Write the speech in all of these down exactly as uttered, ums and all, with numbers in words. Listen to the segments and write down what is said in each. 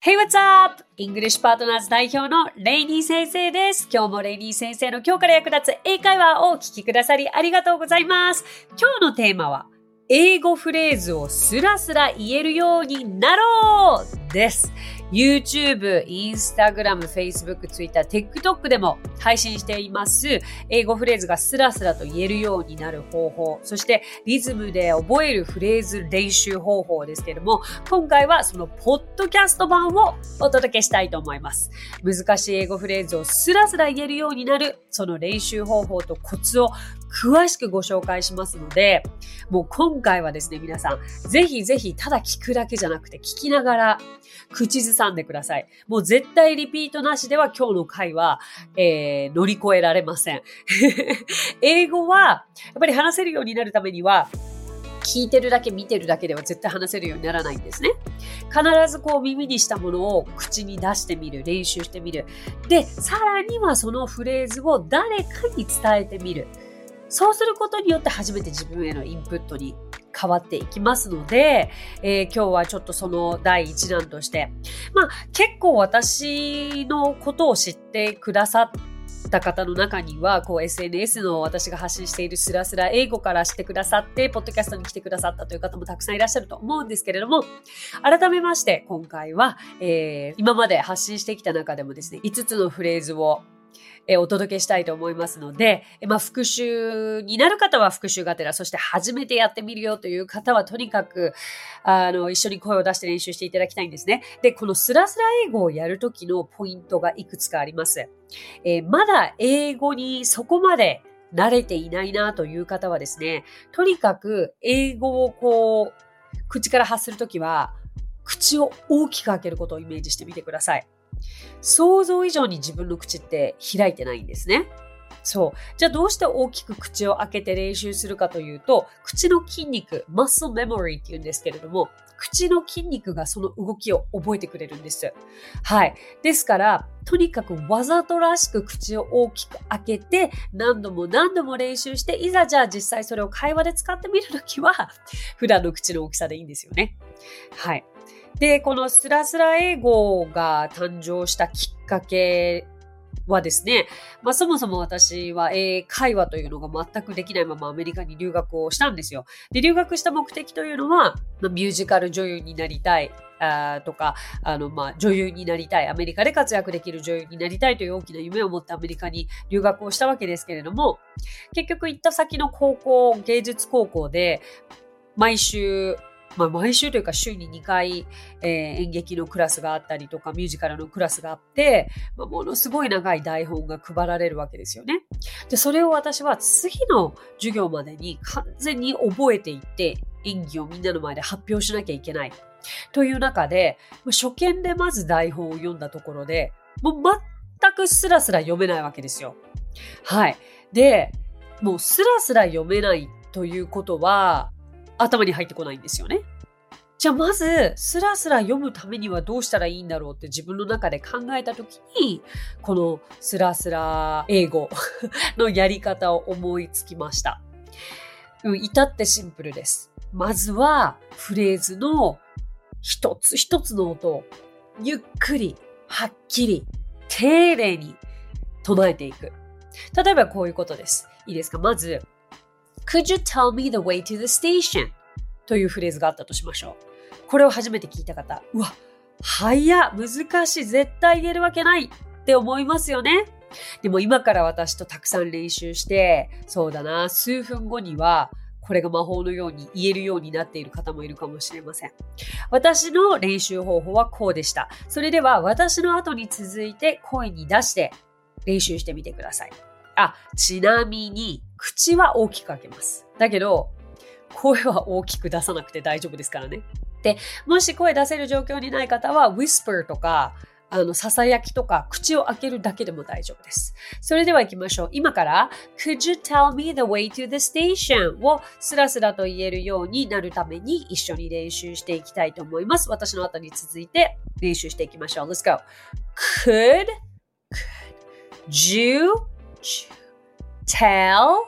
Hey, what's up? イングリッシュパートナーズ代表のレイニー先生です。今日もレイニー先生の今日から役立つ英会話をお聞きくださりありがとうございます。今日のテーマは、英語フレーズをスラスラ言えるようになろうです。YouTube、Instagram、Facebook、Twitter、TikTok でも配信しています。英語フレーズがスラスラと言えるようになる方法、そしてリズムで覚えるフレーズ練習方法ですけれども、今回はそのポッドキャスト版をお届けしたいと思います。難しい英語フレーズをスラスラ言えるようになる、その練習方法とコツを詳しくご紹介しますので、もう今回はですね、皆さん、ぜひぜひただ聞くだけじゃなくて聞きながら口ずさんでください。もう絶対リピートなしでは今日の回は、えー、乗り越えられません。英語はやっぱり話せるようになるためには、聞いてるだけ見てるだけでは絶対話せるようにならないんですね。必ずこう耳にしたものを口に出してみる、練習してみる。で、さらにはそのフレーズを誰かに伝えてみる。そうすることによって初めて自分へのインプットに変わっていきますので、えー、今日はちょっとその第一弾として、まあ結構私のことを知ってくださった方の中には、こう エスエヌエス の私が発信しているスラスラ英語から知ってくださって、ポッドキャストに来てくださったという方もたくさんいらっしゃると思うんですけれども、改めまして今回は、えー、今まで発信してきた中でもですね、いつつのフレーズをえお届けしたいと思いますので、まあ、復習になる方は復習がてら、そして初めてやってみるよという方はとにかくあの一緒に声を出して練習していただきたいんですね。で、このスラスラ英語をやるときのポイントがいくつかあります。えー、まだ英語にそこまで慣れていないなという方はですね、とにかく英語をこう口から発するときは口を大きく開けることをイメージしてみてください。想像以上に自分の口って開いてないんですね。そう。じゃあどうして大きく口を開けて練習するかというと、口の筋肉、マッスルメモリーって言うんですけれども、口の筋肉がその動きを覚えてくれるんです。はい。ですから、とにかくわざとらしく口を大きく開けて、何度も何度も練習して、いざじゃあ実際それを会話で使ってみるときは、普段の口の大きさでいいんですよね。はい。で、このスラスラ英語が誕生したきっかけはですね、まあそもそも私は英会話というのが全くできないままアメリカに留学をしたんですよ。で、留学した目的というのは、まあ、ミュージカル女優になりたいあとか、あの、まあ女優になりたい、アメリカで活躍できる女優になりたいという大きな夢を持ってアメリカに留学をしたわけですけれども、結局行った先の高校、芸術高校で、毎週、まあ、毎週というか週ににかい、えー、演劇のクラスがあったりとかミュージカルのクラスがあって、まあ、ものすごい長い台本が配られるわけですよね。で、それを私は次の授業までに完全に覚えていって演技をみんなの前で発表しなきゃいけないという中で、初見でまず台本を読んだところでもう全くスラスラ読めないわけですよ。はい。で、もうスラスラ読めないということは頭に入ってこないんですよね。じゃあまずスラスラ読むためにはどうしたらいいんだろうって自分の中で考えたときに、このスラスラ英語のやり方を思いつきました。うん、至ってシンプルです。まずはフレーズの一つ一つの音をゆっくり、はっきり、丁寧に唱えていく。例えばこういうことです。いいですか？まず、Could you tell me the way to the station? というフレーズがあったとしましょう。これを初めて聞いた方、うわ、早っ、難しい、絶対言えるわけないって思いますよね。でも今から私とたくさん練習して、そうだな、数分後にはこれが魔法のように言えるようになっている方もいるかもしれません。私の練習方法はこうでした。それでは私の後に続いて声に出して練習してみてください。あ、ちなみに口は大きく開けます。だけど声は大きく出さなくて大丈夫ですからね。で、もし声出せる状況にない方は whisper とかあのささやきとか口を開けるだけでも大丈夫です。それでは行きましょう。今から Could you tell me the way to the station? をスラスラと言えるようになるために一緒に練習していきたいと思います。私の後に続いて練習していきましょう。Let's go. Could, could you tell, tell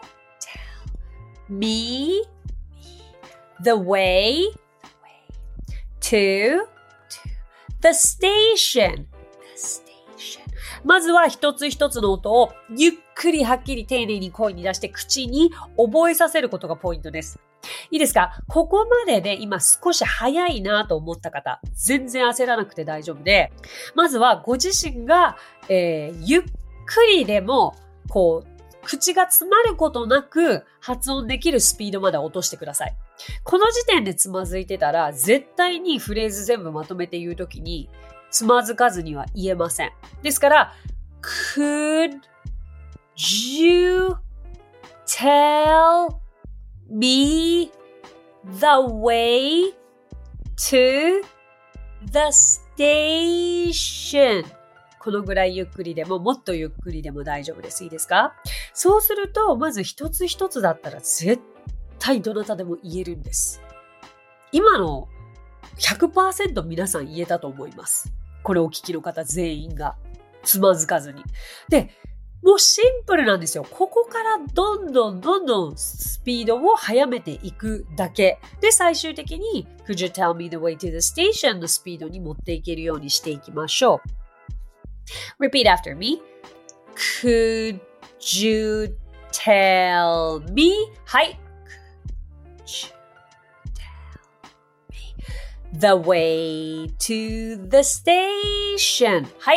me the way to the station. The station. まずは一つ一つの音をゆっくりはっきり丁寧に声に出して口に覚えさせることがポイントです。いいですか？ここまでで今少し早いなと思った方、全然焦らなくて大丈夫で、まずはご自身が、えー、ゆっくりでもこう口が詰まることなく発音できるスピードまで落としてください。この時点でつまずいてたら、絶対にフレーズ全部まとめて言うときに、つまずかずには言えません。ですから、could you tell me the way to the station?このぐらいゆっくりでも、もっとゆっくりでも大丈夫です。いいですか？そうすると、まず一つ一つだったら絶対どなたでも言えるんです。今の ひゃくパーセント 皆さん言えたと思います。これをお聞きの方全員がつまずかずに。で、もうシンプルなんですよ。ここからどんどんどんどんスピードを速めていくだけ。で、最終的に Could you tell me the way to the station のスピードに持っていけるようにしていきましょう。Repeat after me. Could you tell me? はい。Could you tell me the way to the station? はい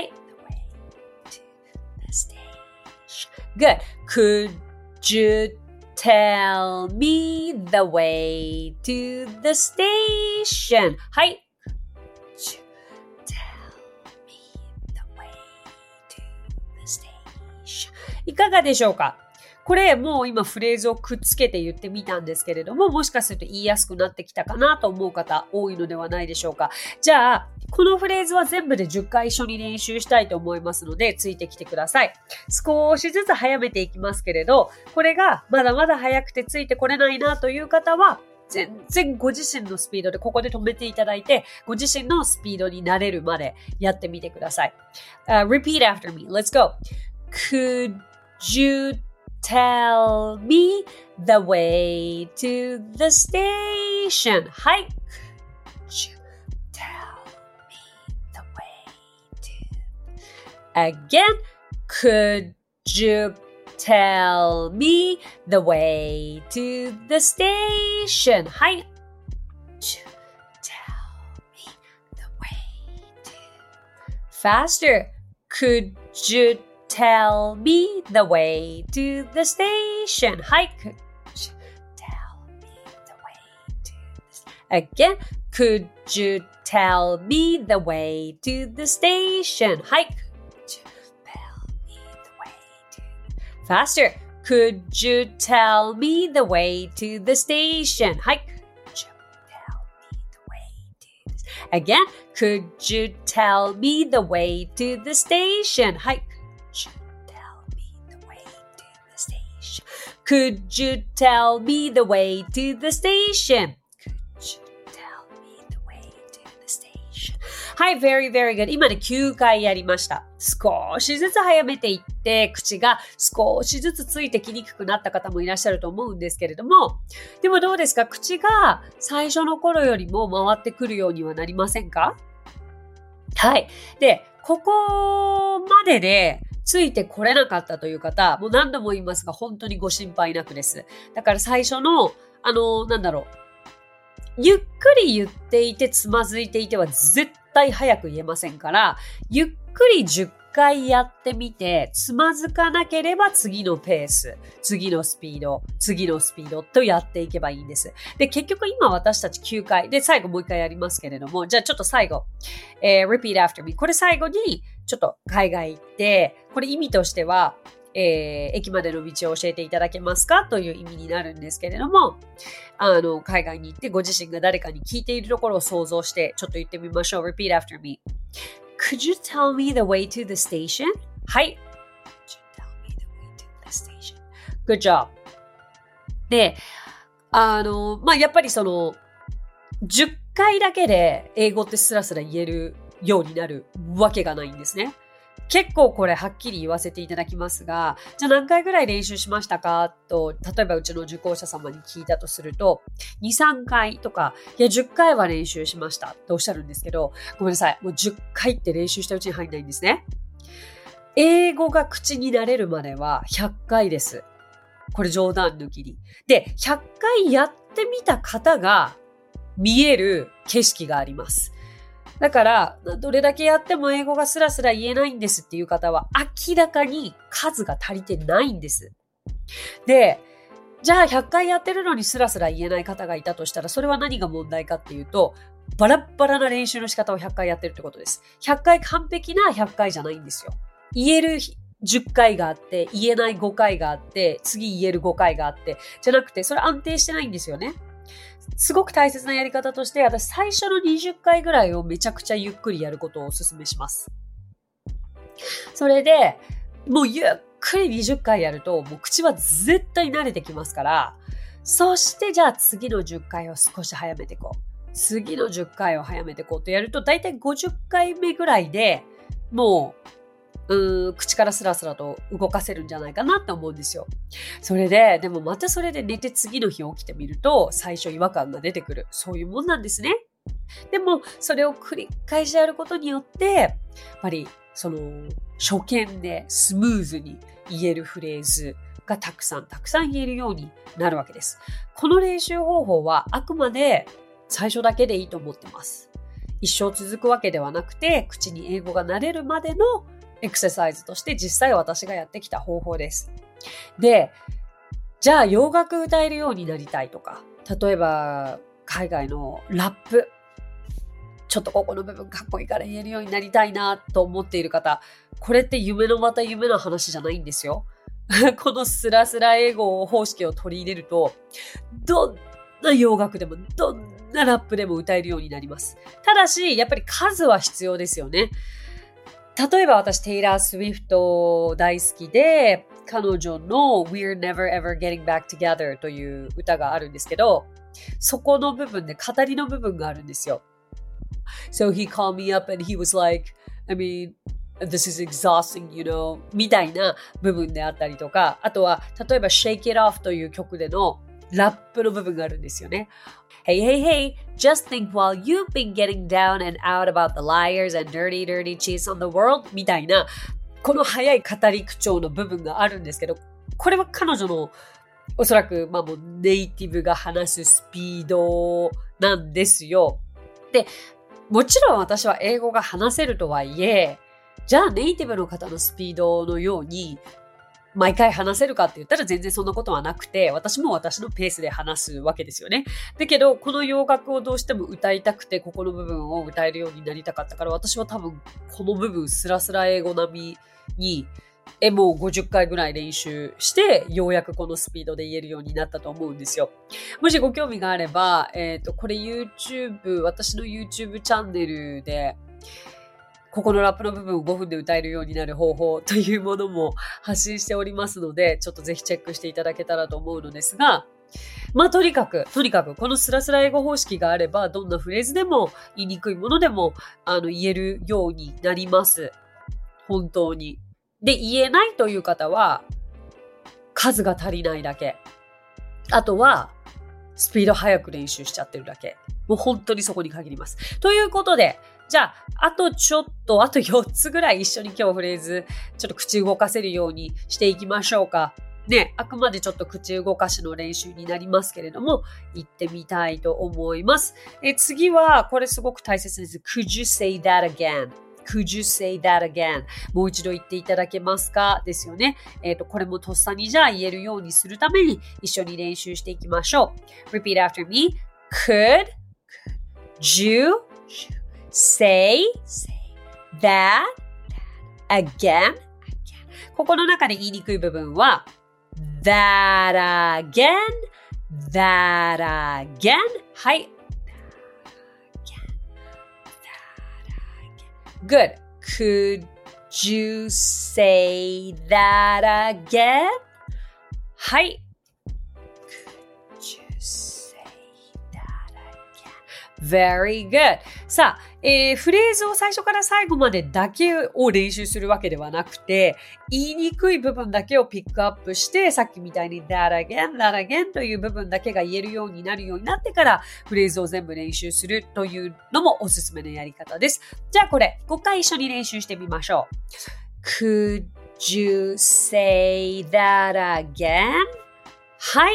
。Good. Could you tell me the way to the station? はい。Could you tell me the way to the station? いかがでしょうか？これもう今フレーズをくっつけて言ってみたんですけれども、もしかすると言いやすくなってきたかなと思う方多いのではないでしょうか。じゃあ、このフレーズは全部でじゅっかい一緒に練習したいと思いますので、ついてきてください。少しずつ早めていきますけれど、これがまだまだ早くてついてこれないなという方は、全然ご自身のスピードでここで止めていただいて、ご自身のスピードになれるまでやってみてください。Uh, repeat after me. Let's go. Could you tell me the way to the station? はい。Could you tell me the way to... Again. Could you tell me the way to the station? はい。Could you tell me the way to... Faster. Could you tell me the way to the station? はい。Could you tell me the way to the... Again. Could you tell me the way to the station? はい。Faster. Could you tell me the way to the station? はい。Again. Could you tell me the way to the station? はい。Could you tell me the way to the station?はい、very, very good. 今ね、きゅうかいやりました。少しずつ早めていって、口が少しずつついてきにくくなった方もいらっしゃると思うんですけれども、でもどうですか？口が最初の頃よりも回ってくるようにはなりませんか？はい。で、ここまででついてこれなかったという方、もう何度も言いますが、本当にご心配なくです。だから最初の、あの、なんだろう。ゆっくり言っていてつまずいていては絶対早く言えませんから、ゆっくりじゅっかいやってみて、つまずかなければ次のペース、次のスピード、次のスピードとやっていけばいいんです。で、結局今私たちきゅうかい、で、最後もういっかいやりますけれども、じゃあちょっと最後、えー、repeat after me。これ最後にちょっと海外行って、これ意味としては、えー、駅までの道を教えていただけますかという意味になるんですけれども、あの、海外に行ってご自身が誰かに聞いているところを想像して、ちょっと言ってみましょう。Repeat after me. Could you tell me the way to the station? はい。Could you tell me the way to the station? Good job. で、あの、まあ、やっぱりその、じゅっかいだけで英語ってスラスラ言えるようになるわけがないんですね。 結構これはっきり言わせていただきますが、じゃあ何回ぐらい練習しましたかと、例えばうちの受講者様に聞いたとすると、に、さんかいとか、いやじゅっかいは練習しましたとおっしゃるんですけど、ごめんなさい。もうじゅっかいって練習したうちに入んないんですね。英語が口になれるまではひゃっかいです。これ冗談抜きに。で、ひゃっかいやってみた方が見える景色があります。だから、どれだけやっても英語がスラスラ言えないんですっていう方は明らかに数が足りてないんです。で、じゃあひゃっかいやってるのにスラスラ言えない方がいたとしたら、それは何が問題かっていうと、バラッバラな練習の仕方をひゃっかいやってるってことです。ひゃっかい完璧なひゃっかいじゃないんですよ。言えるじゅっかいがあって、言えないごかいがあって、次言えるごかいがあって、じゃなくて、それ安定してないんですよね。すごく大切なやり方として、私最初のにじゅっかいぐらいをめちゃくちゃゆっくりやることをお勧めします。それで、もうゆっくりにじゅっかいやると、もう口は絶対慣れてきますから、そしてじゃあ次のじゅっかいを少し早めていこう。次のじゅっかいを早めていこうとやると、だいたいごじゅっかいめぐらいでもう、うーん、口からスラスラと動かせるんじゃないかなって思うんですよ。それで、でもまたそれで寝て次の日起きてみると、最初違和感が出てくる。そういうもんなんですね。でも、それを繰り返しやることによって、やっぱり、その、初見でスムーズに言えるフレーズがたくさんたくさん言えるようになるわけです。この練習方法はあくまで最初だけでいいと思ってます。一生続くわけではなくて、口に英語が慣れるまでのエクササイズとして実際私がやってきた方法です。で、じゃあ洋楽歌えるようになりたいとか、例えば海外のラップ、ちょっとここの部分かっこいいから言えるようになりたいなと思っている方、これって夢のまた夢の話じゃないんですよ。このスラスラ英語方式を取り入れると、どんな洋楽でもどんなラップでも歌えるようになります。ただし、やっぱり数は必要ですよね。例えば私、テイラー・スウィフト大好きで、彼女の We're Never Ever Getting Back Together という歌があるんですけど、そこの部分で語りの部分があるんですよ。So he called me up and he was like, I mean, this is exhausting, you know, みたいな部分であったりとか、あとは、例えば Shake It Off という曲でのラップの部分があるんですよね。Hey, hey, hey, just think while you've been getting down and out about the liars and dirty, dirty cheats on the world みたいな、この早い語り口調の部分があるんですけど、これは彼女のおそらく、まあもうネイティブが話すスピードなんですよ。で、もちろん私は英語が話せるとはいえ、じゃあネイティブの方のスピードのように、毎回話せるかって言ったら全然そんなことはなくて、私も私のペースで話すわけですよね。だけど、この洋楽をどうしても歌いたくて、ここの部分を歌えるようになりたかったから、私は多分この部分スラスラ英語並みに、え、もうごじゅっかいぐらい練習して、ようやくこのスピードで言えるようになったと思うんですよ。もしご興味があれば、えっと、これ YouTube、私の YouTube チャンネルで、ここのラップの部分をごふんで歌えるようになる方法というものも発信しておりますので、ちょっとぜひチェックしていただけたらと思うのですが、まあとにかく、とにかくこのスラスラ英語方式があれば、どんなフレーズでも言いにくいものでもあの言えるようになります。本当に。で、言えないという方は、数が足りないだけ。あとは、スピード速く練習しちゃってるだけ。もう本当にそこに限ります。ということで、じゃあ、あとちょっと、あとよっつぐらい一緒に今日フレーズ、ちょっと口動かせるようにしていきましょうか。ね、あくまでちょっと口動かしの練習になりますけれども、行ってみたいと思います。え次は、これすごく大切です。Could you say that again?Could you say that again? もう一度言っていただけますかですよね。えっと、これもとっさにじゃあ言えるようにするために一緒に練習していきましょう。Repeat after me. Could you say that again? ここの中で言いにくい部分は that again, that again. はい。Good. Could you say that again? はい。Could you say that again? Very good. さあ、 えー、フレーズを最初から最後までだけを練習するわけではなくて、言いにくい部分だけをピックアップして、さっきみたいに that again, that again という部分だけが言えるようになるようになってから、フレーズを全部練習するというのもおすすめのやり方です。じゃあこれ、ごかい一緒に練習してみましょう。Could you say that again? はい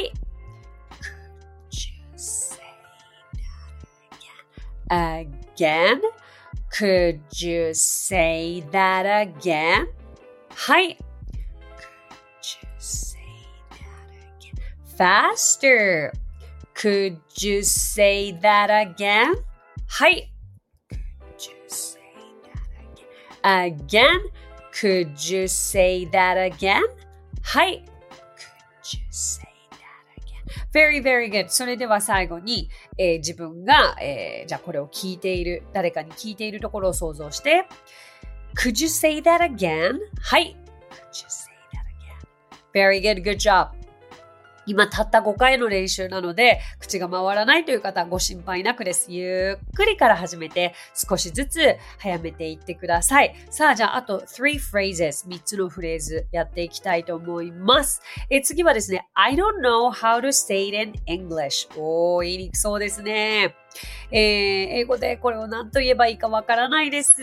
。Again? Could you say that again? はい。Could you say that again? Faster. Could you say that again? はい。Could you say that again? Again? Could you say that again? はい。Could you say Very, very good. それでは最後に、えー、自分が、えー、じゃあこれを聞いている、誰かに聞いているところを想像して、Could you say that again? はい。Could you say that again? Very good. Good job. 今たったごかいの練習なので、口が回らないという方ご心配なくです。ゆっくりから始めて、少しずつ早めていってください。さあ、じゃああとthree phrases、みっつのフレーズやっていきたいと思います。え次はですね、I don't know how to say it in English。おー、言いにくそうですね。えー、英語でこれを何と言えばいいかわからないです。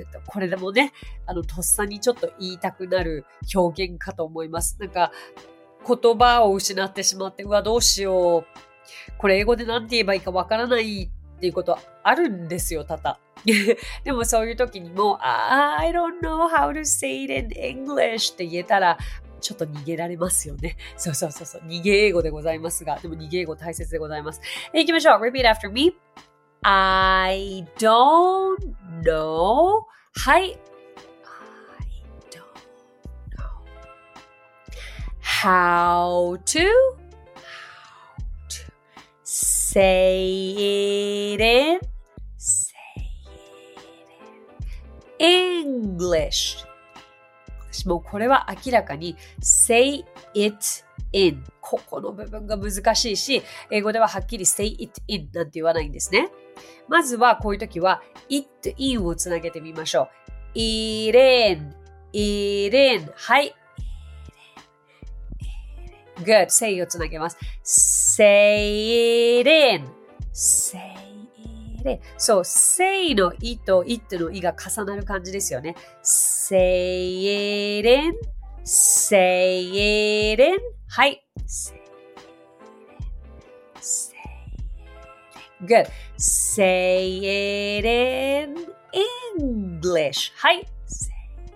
これでもね、あの、とっさにちょっと言いたくなる表現かと思います。なんか、言葉を失ってしまって、うわ、どうしよう。これ英語で何て言えばいいかわからないっていうことあるんですよ、多々。でもそういう時にも、I don't know how to say it in English って言えたら、ちょっと逃げられますよね。そうそうそうそう。逃げ英語でございますが、でも逃げ英語大切でございます。え、行きましょう。Repeat after me.I don't know. はい。How to, how to say it in, say it in English. もうこれは明らかに say it in ここの部分が難しいし、英語でははっきり say it in なんて言わないんですね。まずはこういう時は it in をつなげてみましょう。it in, it in はい。Good. say をつなげます。say it in. say it in. そう、say のいと it のいが重なる感じですよね。say it in. say it in. はい。say it in. Good. say it in English. はい。say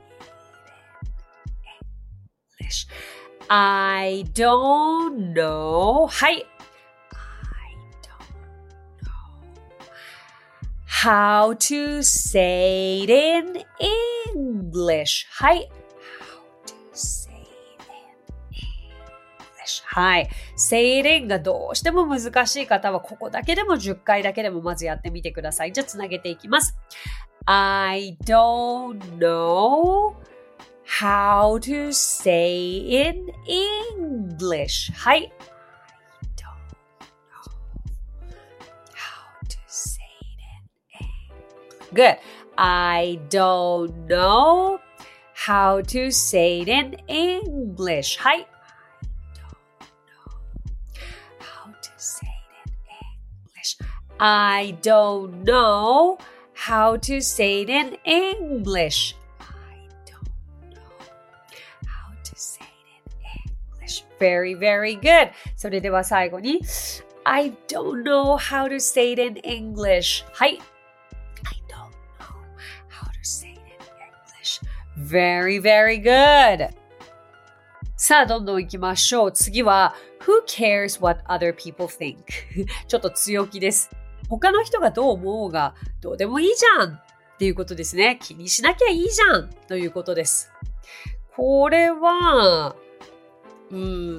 it in English.I don't know. はい。I don't know how to say it in English. はい。How to say it in English. はい。say it in がどうしても難しい方はここだけでもじゅっかいだけでもまずやってみてください。じゃあつなげていきます。I don't know.How to say in English. はい。I don't know how to say it in English. Good. I don't know how to say it in English. はい。I don't know how to say it in English. Very, very good. それでは最後に I don't know how to say it in English. はい。I don't know how to say it in English. Very, very good. さあ、どんどん行きましょう。次は Who cares what other people think? ちょっと強気です。他の人がどう思うがどうでもいいじゃんっていうことですね。気にしなきゃいいじゃんということです。これはうん、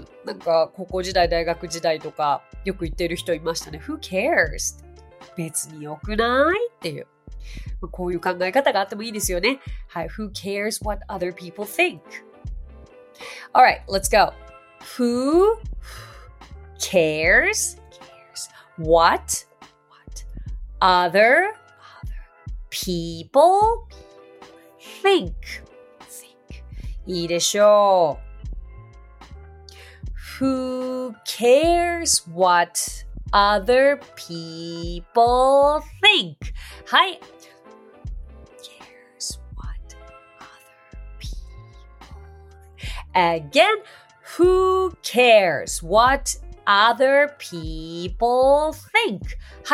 なんか高校時代、大学時代とかよく言ってる人いましたね。Who cares? 別に良くないっていう。こういう考え方があってもいいですよね。はい。Who cares what other people think? Alright, let's go. Who cares? What? What? Other people think. think. いいでしょう。Who cares what other people think? はい。Who cares what other people Again, who cares what other people think? はい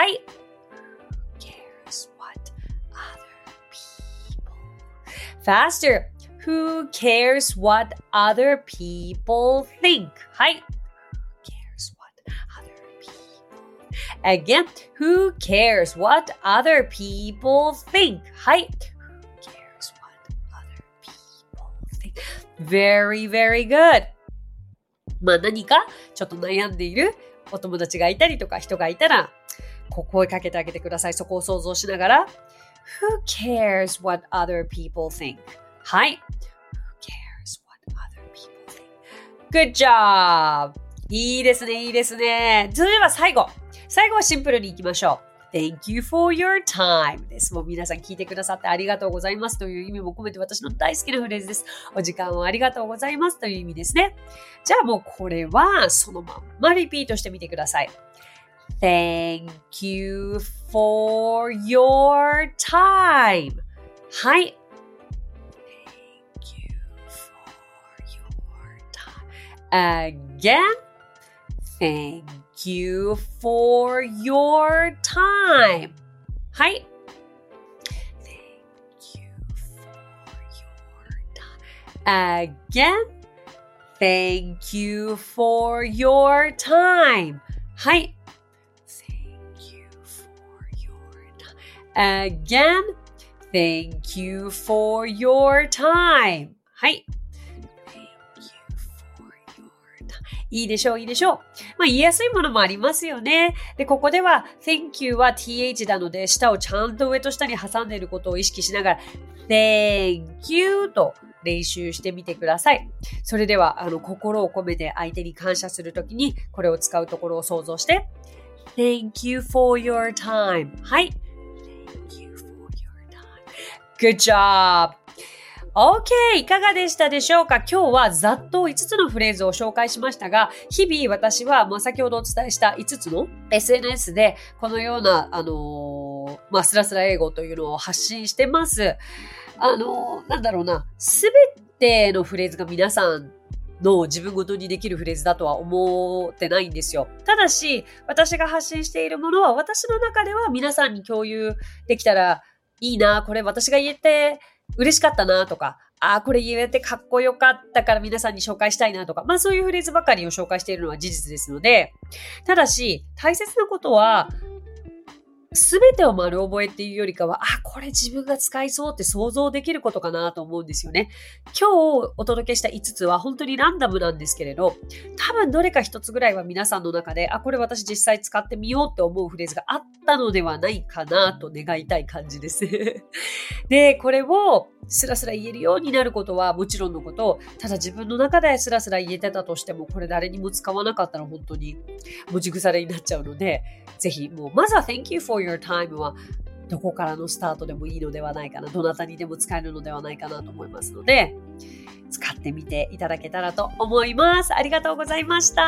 。Faster. Who cares what other people think? はい。Who cares what other people? Again, who cares what other people think? はい。Who cares what other people think? Very, very good. まあ何かちょっと悩んでいるお友達がいたりとか人がいたら、こう声かけてあげてください。そこを想像しながら。Who cares what other people think? はい。Who cares what other people think? Good job! いいですね、いいですね。それでは最後。最後はシンプルに行きましょう。Thank you for your time です。もう皆さん聞いてくださってありがとうございますという意味も込めて私の大好きなフレーズです。お時間をありがとうございますという意味ですね。じゃあもうこれはそのまんまリピートしてみてください。Thank you for your time. はい。Thank you for your time. Again. Thank you for your time. はい。Thank you for your time. Again. Thank you for your time. はい。Again, thank you for your time. はい。Thank you for your time. いいでしょう、いいでしょう。まあ言いやすいものもありますよね。で、ここでは thank you は th なので、舌をちゃんと上と下に挟んでいることを意識しながら thank you と練習してみてください。それでは、あの、心を込めて相手に感謝するときに、これを使うところを想像して Thank you for your time. はい。Good job! OK! いかがでしたでしょうか？今日はざっといつつのフレーズを紹介しましたが、日々私は、まあ、先ほどお伝えしたいつつの エスエヌエス でこのような、あのー、まあ、スラスラ英語というのを発信してます。あのー、なんだろうな、すべてのフレーズが皆さんの自分ごとにできるフレーズだとは思ってないんですよ。ただし、私が発信しているものは私の中では皆さんに共有できたらいいな、これ私が言えて嬉しかったなとか、あ、これ言えてかっこよかったから皆さんに紹介したいなとか、まあそういうフレーズばかりを紹介しているのは事実ですので、ただし大切なことは、すべてを丸覚えっていうよりかは、あ、これ自分が使いそうって想像できることかなと思うんですよね。今日お届けしたいつつは本当にランダムなんですけれど、多分どれか一つぐらいは皆さんの中で、あ、これ私実際使ってみようって思うフレーズがあったのではないかなと願いたい感じです。で、これをスラスラ言えるようになることはもちろんのこと、ただ自分の中でスラスラ言えてたとしても、これ誰にも使わなかったら本当に持ち腐れになっちゃうので、ぜひもうまずは Thank you for your time はどこからのスタートでもいいのではないかな、どなたにでも使えるのではないかなと思いますので、使ってみていただけたらと思います。ありがとうございました。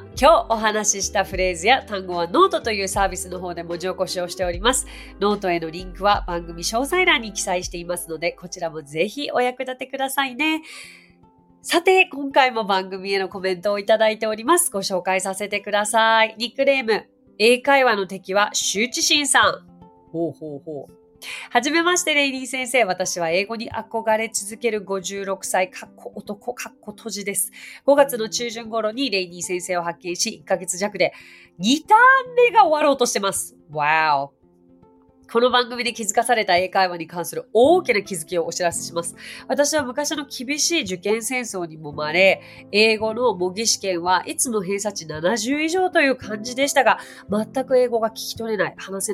今日お話ししたフレーズや単語はノートというサービスの方で文字起こしをしております。ノートへのリンクは番組詳細欄に記載していますので、こちらもぜひお役立てくださいね。さて、今回も番組へのコメントをいただいております。ご紹介させてください。ニックネーム、英会話の敵は羞恥心さん。ほうほうほう。はじめまして、レイリー先生。私は英語に憧れ続けるごじゅうろくさい、かっこ男、かっこ閉じです。ごがつの中旬頃にレイリー先生を発見し、いっかげつ弱でにターン目が終わろうとしてます。わお。この番組で気づかされた英会話に関する大きな気づきをお知らせします。私は昔の厳しい受験戦争にもまれ、英語の模擬試験はいつも偏差値ななじゅう以上という感じでしたが、全く英語が聞き取れない、話せない。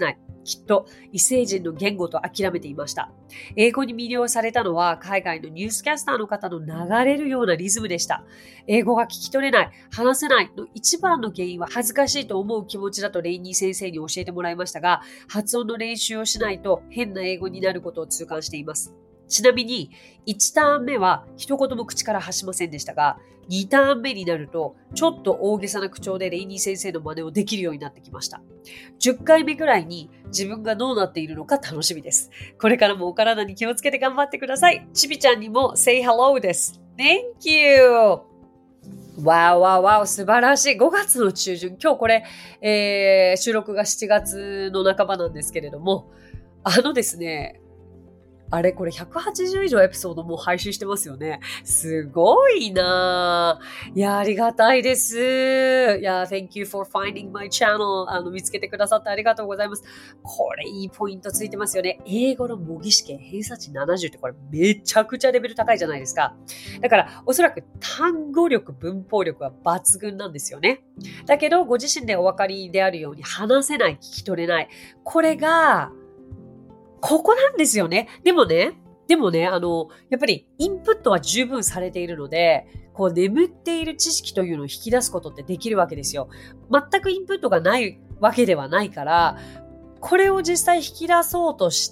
きっと異星人の言語と諦めていました。英語に魅了されたのは海外のニュースキャスターの方の流れるようなリズムでした。英語が聞き取れない、話せないの一番の原因は恥ずかしいと思う気持ちだとレイニー先生に教えてもらいましたが、発音の練習をしないと変な英語になることを痛感しています。ちなみにいちターン目は一言も口から発しませんでしたが、にターン目になるとちょっと大げさな口調でレイニー先生の真似をできるようになってきました。じゅっかいめぐらいに自分がどうなっているのか楽しみです。これからもお体に気をつけて頑張ってください。ちびちゃんにも say hello です。Thank you! わーわーわー素晴らしい。ごがつの中旬。今日これ、えー、収録がしちがつの半ばなんですけれども、あのですね、あれこれひゃくはちじゅう以上エピソードもう配信してますよね。すごいなぁ。いや、ありがたいです。いや、thank you for finding my channel. あの、見つけてくださってありがとうございます。これいいポイントついてますよね。英語の模擬試験偏差値ななじゅうってこれめちゃくちゃレベル高いじゃないですか。だからおそらく単語力、文法力は抜群なんですよね。だけどご自身でお分かりであるように話せない、聞き取れない。これがここなんですよね。でもね、でもね、あの、やっぱりインプットは十分されているので、こう眠っている知識というのを引き出すことってできるわけですよ。全くインプットがないわけではないから、これを実際引き出そうとして、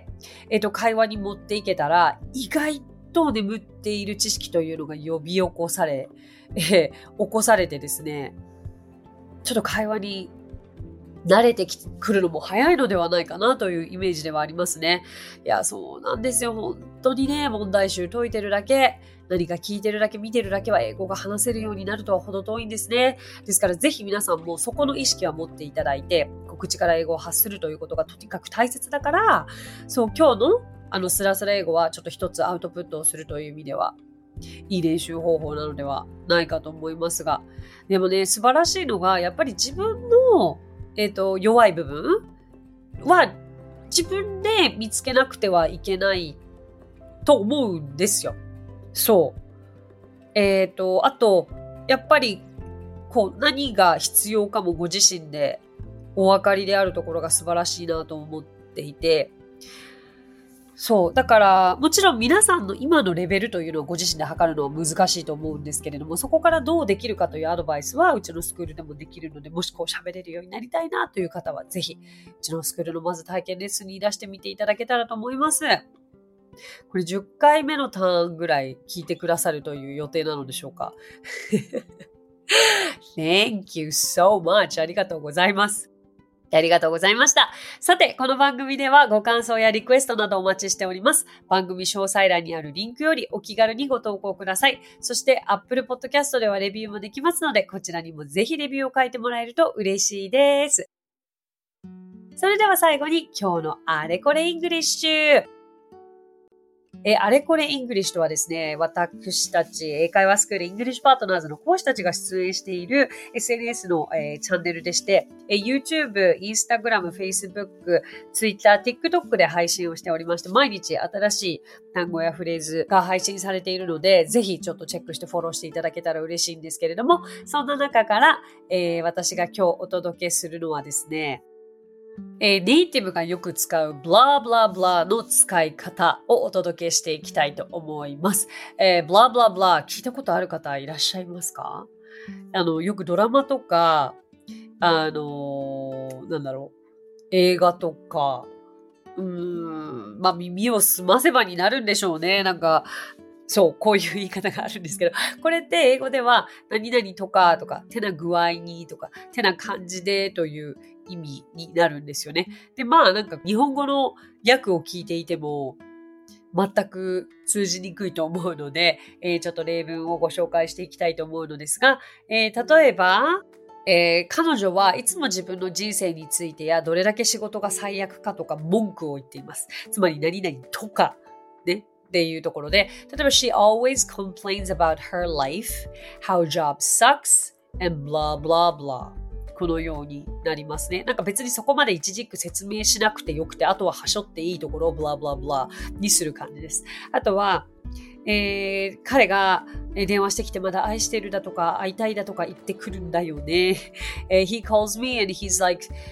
えっと、会話に持っていけたら、意外と眠っている知識というのが呼び起こされ、えー、起こされてですね、ちょっと会話に慣れてくるのも早いのではないかなというイメージではありますね。いや、そうなんですよ。本当にね、問題集解いてるだけ、何か聞いてるだけ、見てるだけは英語が話せるようになるとは程遠いんですね。ですからぜひ皆さんもそこの意識は持っていただいて、口から英語を発するということがとにかく大切だから、そう、今日のあのスラスラ英語はちょっと一つアウトプットをするという意味では、いい練習方法なのではないかと思いますが、でもね、素晴らしいのが、やっぱり自分のえっと、弱い部分は自分で見つけなくてはいけないと思うんですよ。そう。えっと、あと、やっぱり、こう、何が必要かもご自身でお分かりであるところが素晴らしいなと思っていて、そう。だから、もちろん皆さんの今のレベルというのをご自身で測るのは難しいと思うんですけれども、そこからどうできるかというアドバイスはうちのスクールでもできるので、もしこう喋れるようになりたいなという方は、ぜひ、うちのスクールのまず体験レッスンに出してみていただけたらと思います。これじゅっかいめのターンぐらい聞いてくださるという予定なのでしょうか。Thank you so much. ありがとうございます。ありがとうございました。さて、この番組ではご感想やリクエストなどお待ちしております。番組詳細欄にあるリンクよりお気軽にご投稿ください。そして Apple Podcast ではレビューもできますので、こちらにもぜひレビューを書いてもらえると嬉しいです。それでは最後に今日のあれこれイングリッシュ。えあれこれイングリッシュとはですね、私たち英会話スクールイングリッシュパートナーズの講師たちが出演している エスエヌエス の、えー、チャンネルでして、えー、YouTube、Instagram、Facebook、Twitter、TikTok で配信をしておりまして、毎日新しい単語やフレーズが配信されているので、ぜひちょっとチェックしてフォローしていただけたら嬉しいんですけれども、そんな中から、えー、私が今日お届けするのはですね、えー、ネイティブがよく使うブラブラブラの使い方をお届けしていきたいと思います。えー、ブラブラブラ聞いたことある方いらっしゃいますか？あの、よくドラマとか、あのー、なんだろう、映画とか、うーん、まあ耳を澄ませばになるんでしょうね。なんか、そう、こういう言い方があるんですけど、これって英語では何々とかとか、てな具合にとか、てな感じでという意味になるんですよね。で、まあなんか日本語の訳を聞いていても全く通じにくいと思うので、えー、ちょっと例文をご紹介していきたいと思うのですが、えー、例えば、えー、彼女はいつも自分の人生についてやどれだけ仕事が最悪かとか文句を言っています。つまり何々とかね。っていうところで、例えば She always complains about her life, how job sucks, and blah blah blah このようになりますね。なんか別にそこまで一軸説明しなくてよくて、あとははしょっていいところを blah blah blah にする感じです。あとは、えー、彼が電話してきてまだ愛してるだとか会いたいだとか言ってくるんだよね。He calls me and he's like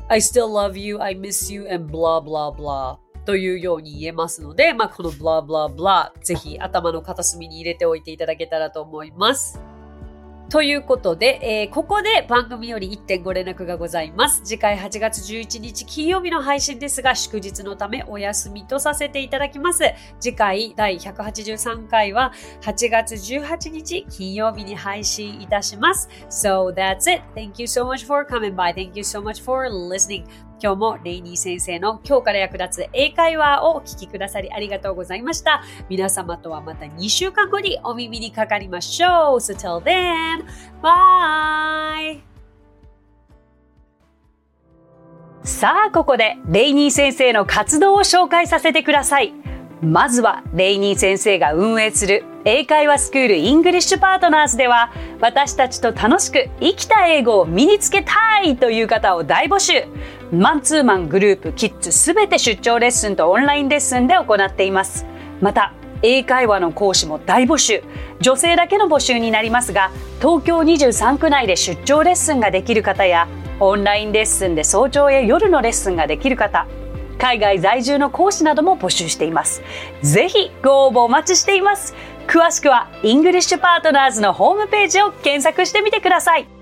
I still love you, I miss you, and blah blah blah というように言えますので、まあ、この blah blah blah ぜひ頭の片隅に入れておいていただけたらと思います。ということで、えー、ここで番組より いってんご 連絡がございます。次回はちがつじゅういちにち金曜日の配信ですが、祝日のためお休みとさせていただきます。次回だいひゃくはちじゅうさんかいははちがつじゅうはちにち金曜日に配信いたします。So that's it. Thank you so much for coming by. Thank you so much for listening. 今日もレイニー先生の今日から役立つ英会話をお聞きくださりありがとうございました。皆様とはまたにしゅうかんごにお耳にかかりましょう。So till then, bye! さあ、ここでレイニー先生の活動を紹介させてください。まずはレイニー先生が運営する英会話スクールイングリッシュパートナーズでは、私たちと楽しく生きた英語を身につけたいという方を大募集。マンツーマン、グループ、キッズすべて出張レッスンとオンラインレッスンで行っています。また英会話の講師も大募集。女性だけの募集になりますが、東京にじゅうさんく内で出張レッスンができる方や、オンラインレッスンで早朝や夜のレッスンができる方、海外在住の講師なども募集しています。ぜひご応募お待ちしています。詳しくはイングリッシュパートナーズのホームページを検索してみてください。